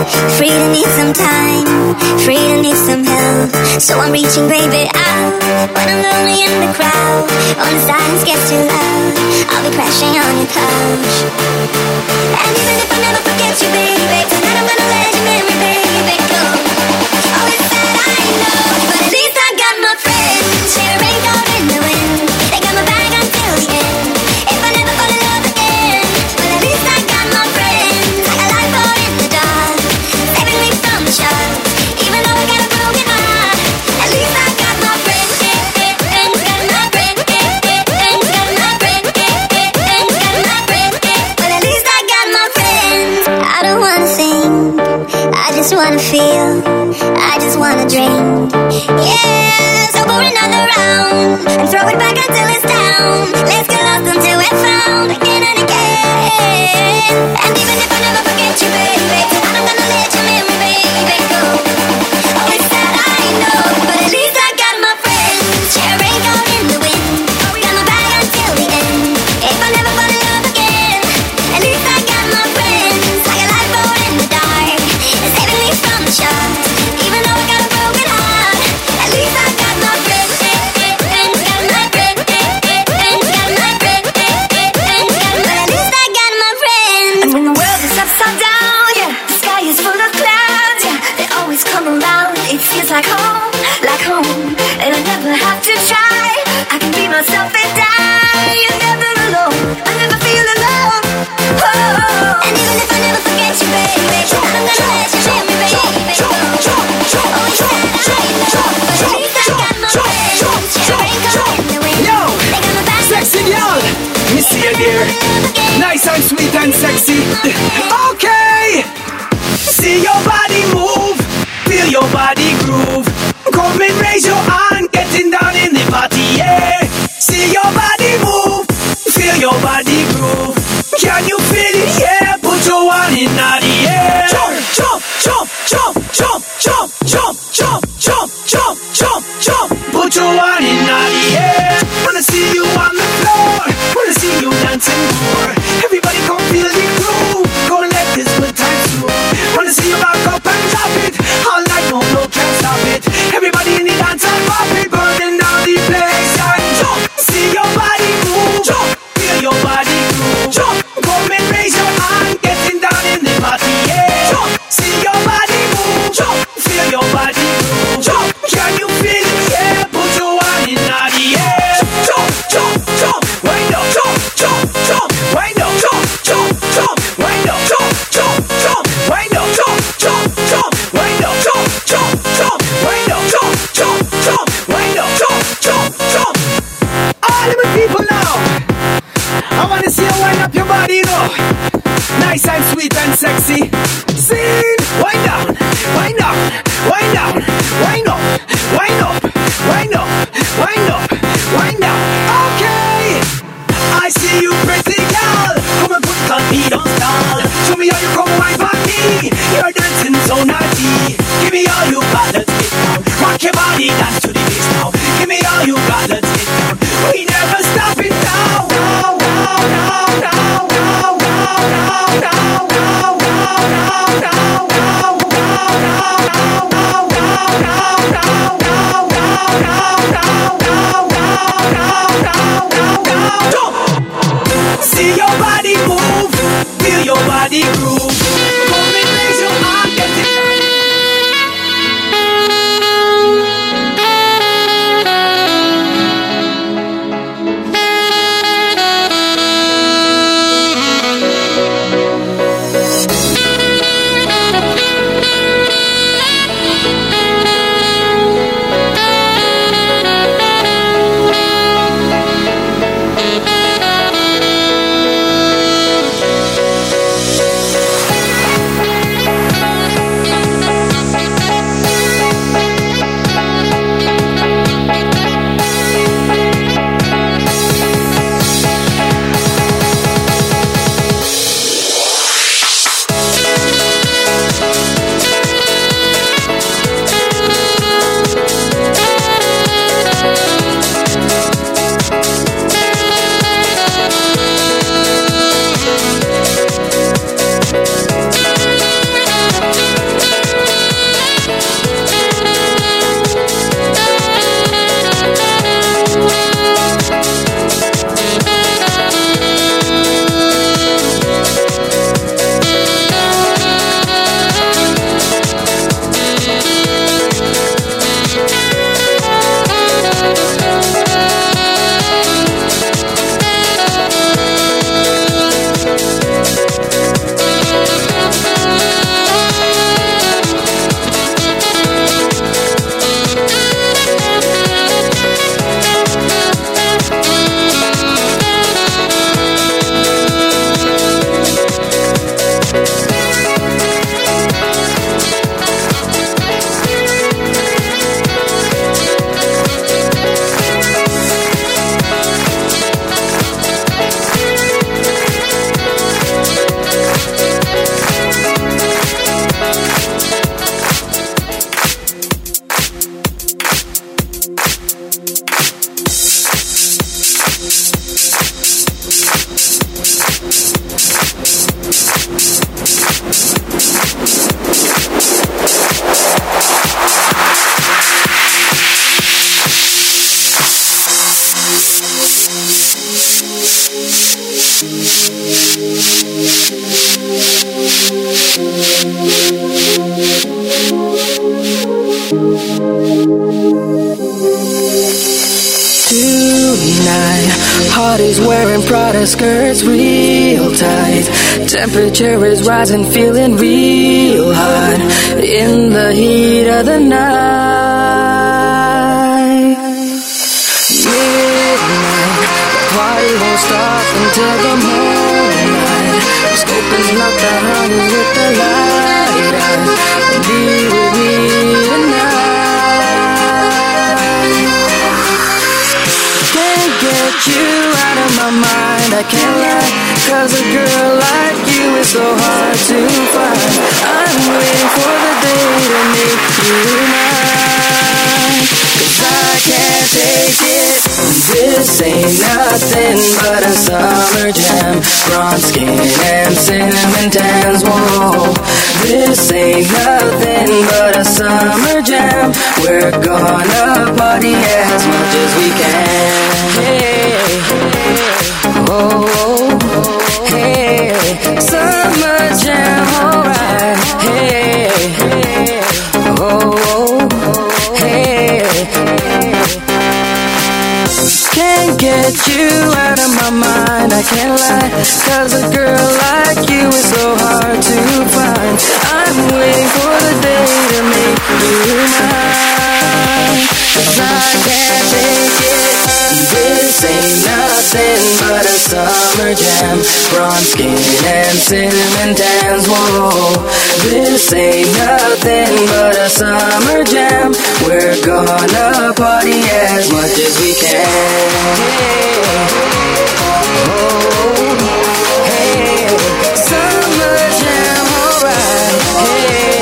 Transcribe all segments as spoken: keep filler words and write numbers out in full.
Free to need some time, free to need some help. So I'm reaching, baby, out when I'm lonely in the crowd. When the silence gets too loud, I'll be crashing on your couch. And even if I never forget you, baby, tonight I'm gonna let your memory, baby, go. Oh, it's sad, I know, but at least I got my friends. Share a raincoat in the wind, they got my back until the end. If I never fall in love again, well, at least I got my friends. Like a light bulb in the dark, saving me from the shark. Even though I got a broken heart, at least I got my friends. Got my friends, got my friends, got my friends. Well, at least I got my friends. I don't wanna sing, I just wanna feel, I just wanna drink. Yeah, so pour another round and throw it back until it's down. Let's get lost until we're found again and again. And even if I never forget you, baby, tonight I'm gonna let your memory, baby, go. Oh, it's sad, I know, but at least I got my friends. Share a raincoat in the wind, got my back until the end. If I never fall in love again, at least I got my friends. Like a lifeboat in the dark, saving me from the sharks. Even though I got a broken heart, at least I got my friends. Got my friends, got my friends, but at least I got my friends. And when the world is upside down, yeah, the sky is full of clouds, yeah, they always come around. It feels like home, like home, and I never have to try. I can be myself and die. You're never alone, I never feel alone. Oh. And even if I never forget you, baby, I'm gonna let you share me, baby. Oh, it's sad, I know, but at least I got my friends. Share a raincoat in the wind, Yo, they got my back sexy girl, me see you there. Nice and sweet and sexy. Okay, see your body move, feel your body groove. Come and raise your hand, getting down in the party, yeah. See your body move, feel your body groove. Can you feel it? Yeah, put your hand in the air. Jump, jump, jump, jump, jump, jump, jump, jump, jump, jump, jump, jump. Put your hand in the air. Wanna see you on the floor, wanna see you dancing more. Everybody come feel the groove, gonna let this good time through. Wanna see you rock up and drop it, all night, no, no, can't stop it. Everybody in the dance and pop it, burning down the place. And jump, see your body move, jump, feel your body groove. Jump, come and raise your hand, getting down in the party, yeah. Jump, see your body move, jump, feel your body groove. Jump, can you feel it? Yeah, put your hand in the air. Jump, jump, jump, wind up, jump, jump, jump, wind up, jump, jump, jump, wind up, jump, jump, jump, wind up, jump, jump, jump, wind up, jump, jump, jump, wind up, jump, jump, jump, wind up, jump, jump, jump. All of my people now, I wanna see you wind up your body, you know. Nice and sweet and sexy. Sing, wind down, wind down, wind down, wind up, wind up, wind up, wind up, wind down. Okay, I see you, pretty girl. Come and put it on me, don't stall. Show me how you come right by me. You're dancing so naughty. Give me all you got, let's get down. Rock your body, dance to the bass now. Give me all you got, let's get down. We never stop it now. Now, now, now, now, now, now, now, now, now, now, now, now, now. Shawty's wearing Prada skirts real tight. Temperature is rising, feeling real hot in the heat of the night. Midnight, the party won't stop until the morning. Scoping's not the honey with the light on. Be with me tonight. Can't get you out of my mind, I can't lie. Cause a girl like you is so hard to find. I'm waiting for the day to make you mine. Cause I can't take it. This ain't nothing but a summer jam. Bronze skin and cinnamon tans, whoa. This ain't nothing but a summer jam. We're gonna party as much as we can. Hey, oh, hey, summer jam, alright. Hey, oh, hey. Can't get you out of my mind, I can't lie. Cause a girl like you is so hard to find. I'm waiting for the day to make you mine. Cause I can't take it. This ain't nothing but a summer jam. Bronze skin and cinnamon tans, whoa. This ain't nothing but a summer jam. We're gonna party as much as we can. Hey, oh, hey, summer jam, alright. Hey,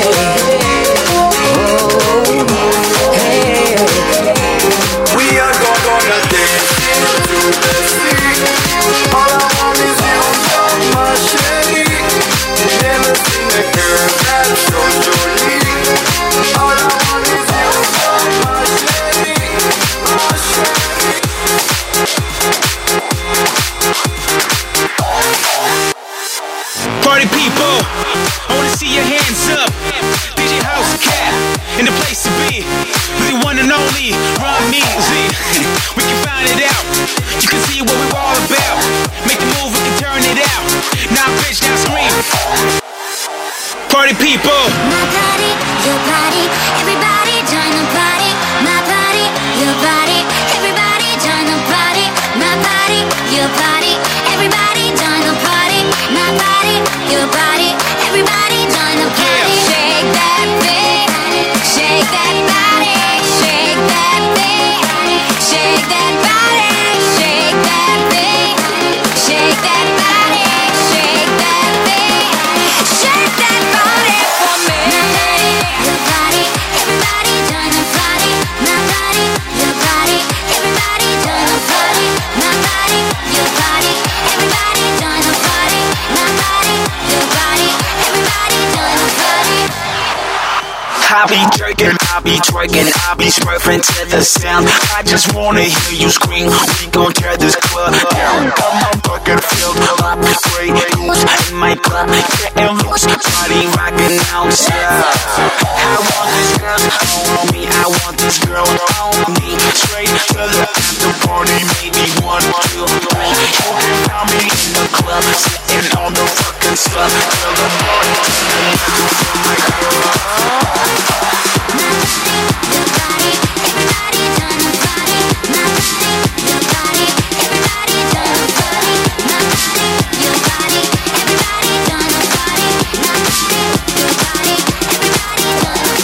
oh, hey. We are gonna dance into the sea. All I want is you, my shady. Never seen a girl that's so jolly. All I want is you, my shady, my shady. Party people, I wanna see your hands up. D J House Cat, in the place to be. The one and only Ron Measy. We can find it out. You can see what we're all about. Make the move, we can turn it out. Now bitch, now scream. Party people. My party, your party, everybody join the party. My party, your party, everybody join the party. My party, your party, everybody join the party. My party, your party, everybody join the party. Shake that thing, shake that body, shake that thing, shake that body, shake that thing, shake that body, shake that thing, shake that body for me. My body, your body, everybody join the party. My body, your body, everybody join the party. My body, your body, everybody join the party. My body, your body, everybody join the party. I be jerking, I be twerking, I be smurfing to the sound. I just wanna hear you scream. We gon' tear this club down. Got my bucket filled up, Grey Goose in my club, getting loose, party rocking outside. I want this girl on me, I want this girl on me. Straight to the after party, maybe one, two, three. You can find me in the club, sitting on the fucking stuff till the morning. For my girl. Your body, everybody join the party. My body, your body, everybody join the party. My body, your body, everybody join the party. My body, your body, everybody join the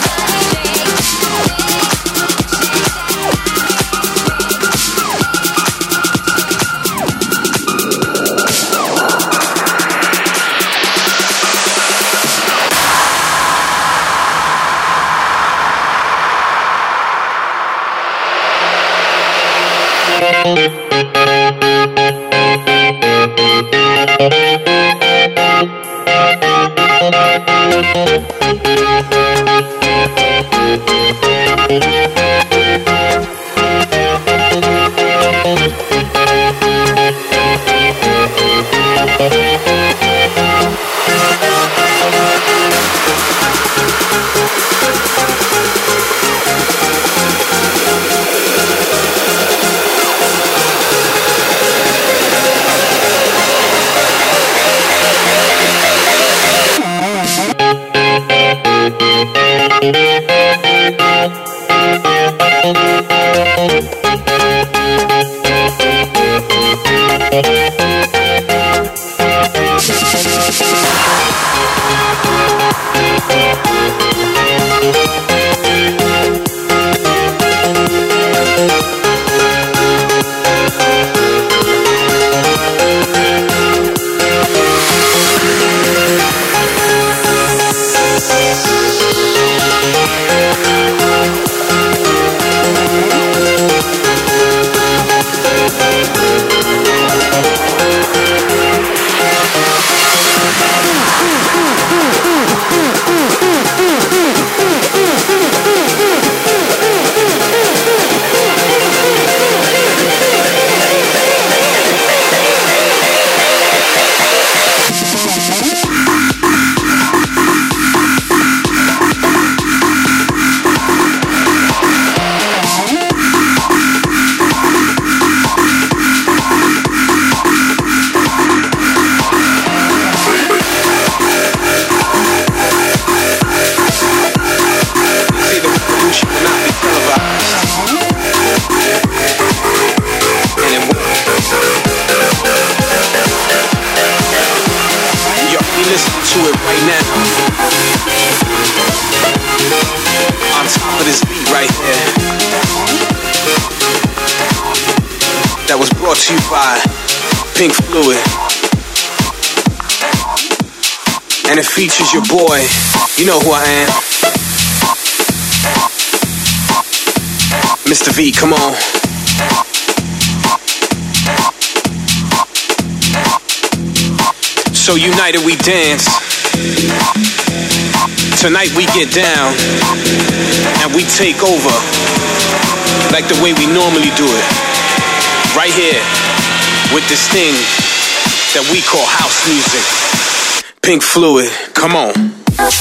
To you by Pink Fluid, and it features your boy. You know who I am, Mister V. Come on. So united we dance. Tonight we get down and we take over like the way we normally do it. Right here, with this thing that we call house music. Pink Fluid, come on.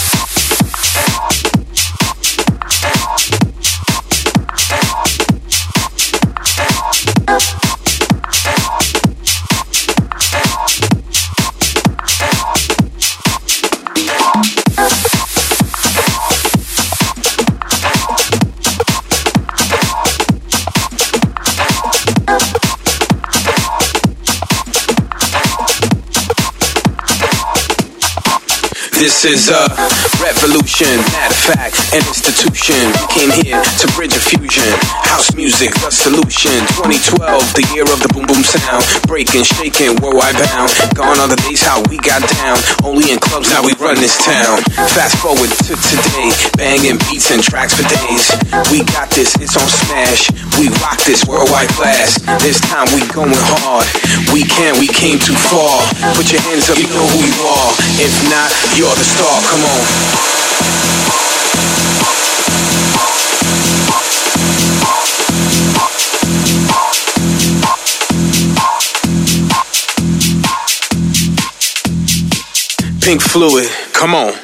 This is a revolution, matter of fact, an institution. Came here to bridge a fusion. House music, the solution. twenty twelve, the year of the boom boom sound. Breaking, shaking, worldwide bound. Gone are the days how we got down. Only in clubs, now we run this town. Fast forward to today, banging beats and tracks for days. We got this, it's on smash. We rock this worldwide blast. This time we going hard. We can, we came too far. Put your hands up, you know who you are. If not, you're the star, come on. Pink Fluid, come on.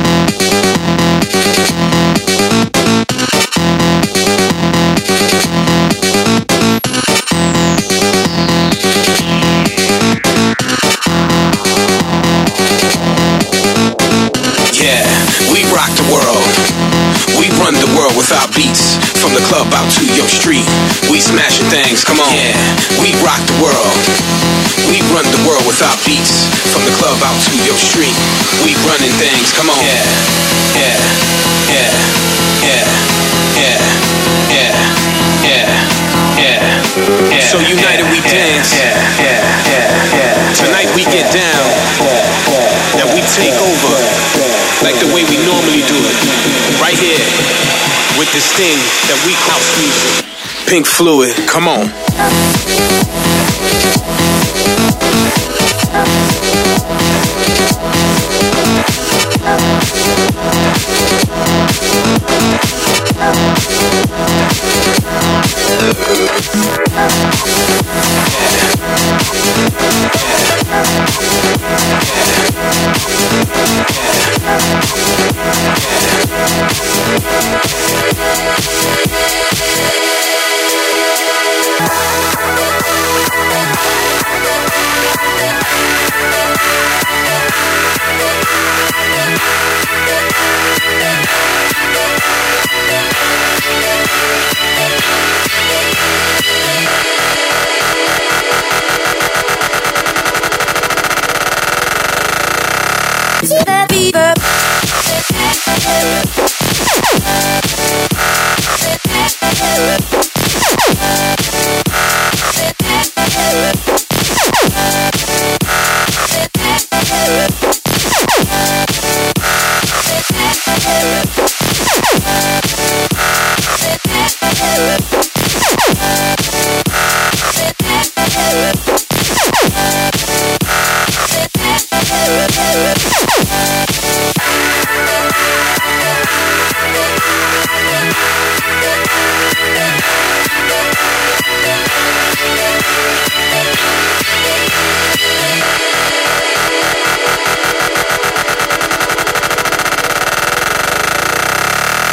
Yeah, we rock the world. We run the world with our beats. From the club out to your street, we smashing things, come on. Yeah, we rock the world. We run the world with our beats. From the club out to your street, we running things, come on. Yeah, yeah, yeah, yeah, yeah, yeah, yeah, yeah, yeah. So united we dance. Yeah, yeah, yeah, yeah. Tonight we get down. Now we take over like the way we normally do it. Right here with this thing that we call house music. Pink Fluid, come on.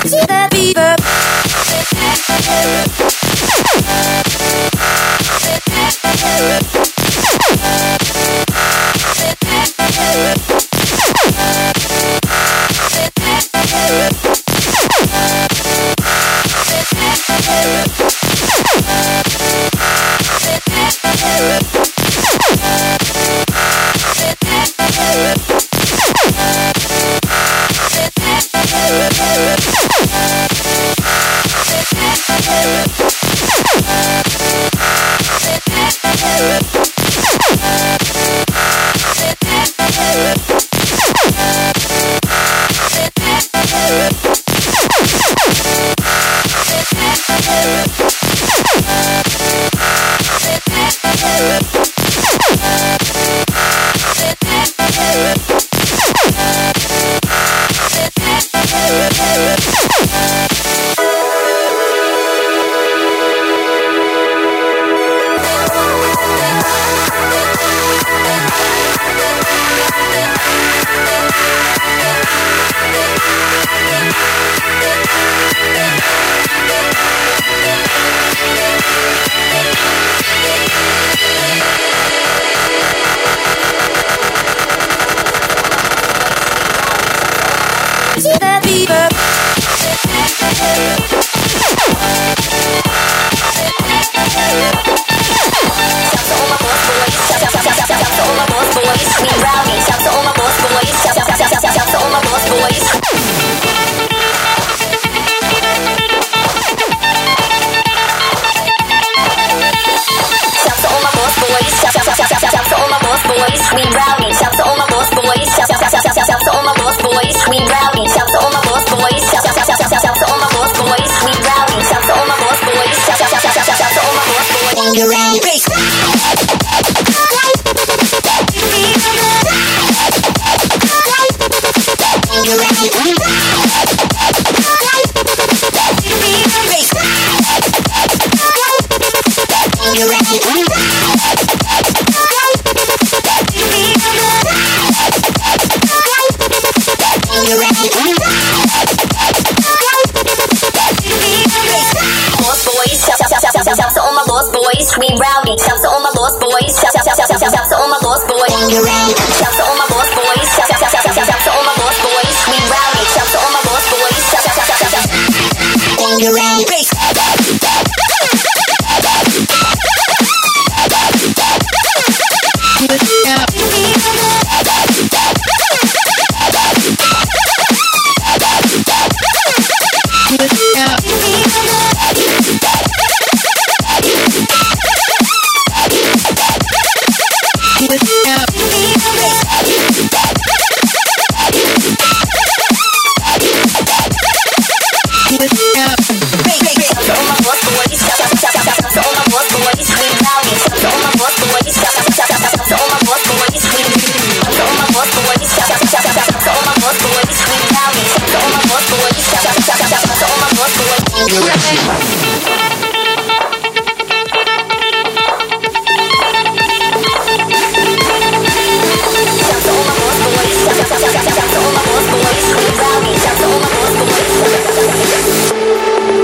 Shout to all my boss boys,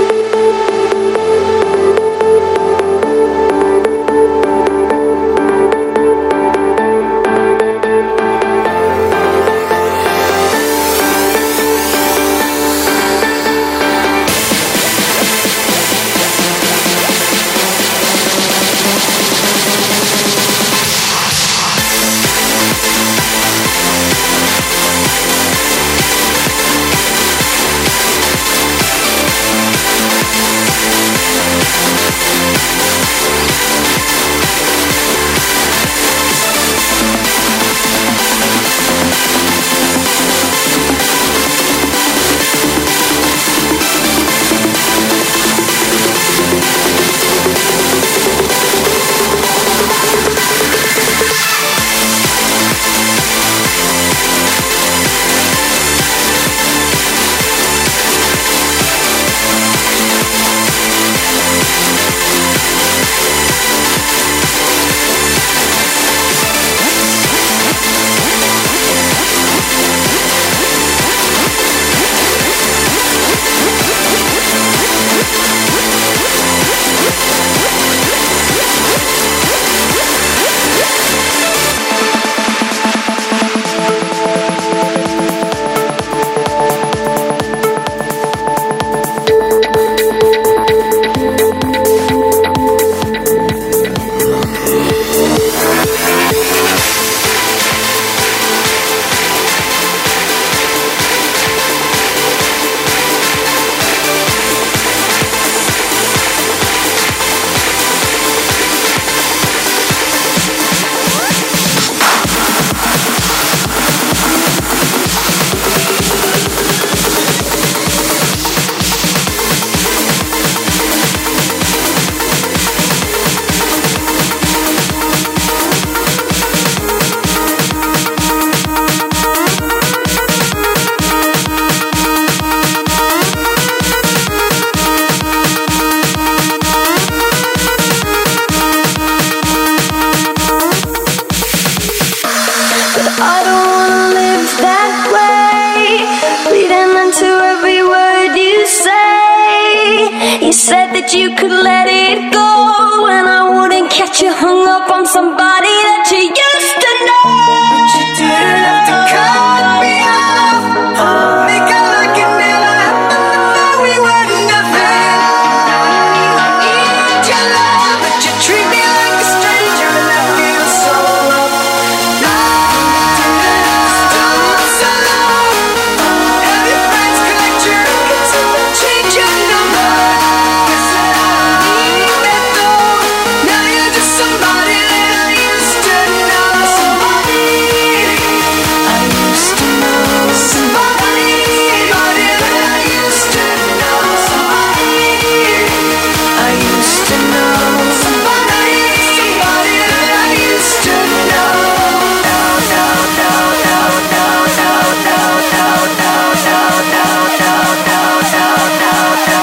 that you could let it go, and I wouldn't catch you hung up on somebody that you used to know. But you didn't have to cut me off, make it like it never happened, that we were nothing. I need your love, but you treat me like a stranger, and I feel so low. No, don't so low. Have your friends collect your tickets and change your number. Now you're just somebody that I used to know. Somebody I used to know. Somebody, somebody that I used to know. Somebody I used to know. Somebody, somebody that I used to know. No, no, no, no, no, no, no, no, no, no, no, no, no, no,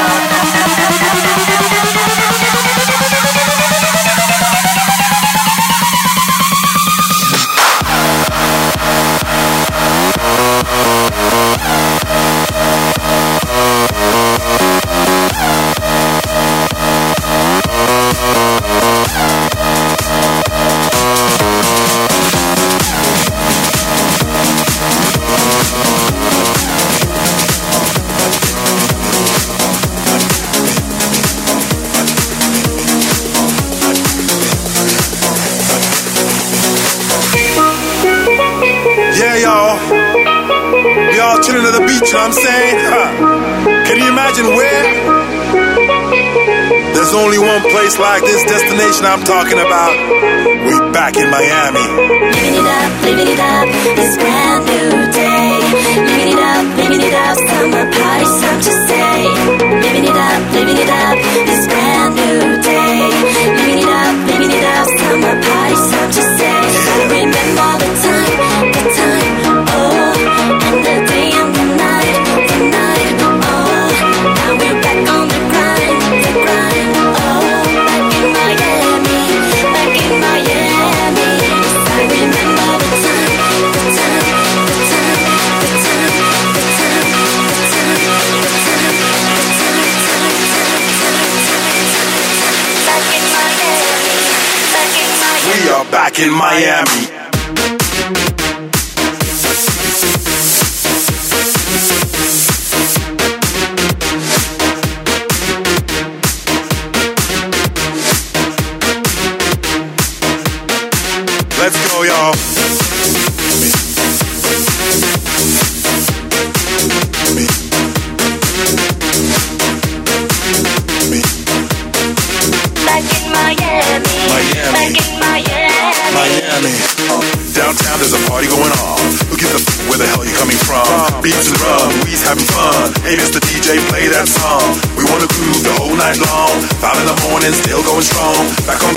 Yeah, y'all. We all chilling at the beach, you know what I'm saying? Huh. Can you imagine where? There's only one place like this destination I'm talking about. We back in Miami. living it up, living it up, this brand new day. Living it up, living it up, summer party, some to say. Living it up, living it up, this brand new day. Living it up, living it up, summer party, some to say. I remember the time, the time, oh, and the day and the night, the night, oh. Now we're back on the grind, the grind, oh. Back in Miami, back in Miami. I remember the time, the time, the time, the time, the time, the time, the time, the time, back in Miami, back in Miami. We are back in Miami. Let's go, y'all. Back in Miami, Miami. back in Miami. Miami. Downtown there's a party going on. Who gives a f- where the hell you coming from? Beats and rum, we's having fun. Hey, Mister D J, play that song. We wanna groove the whole night long. Five in the morning, still going strong. Back on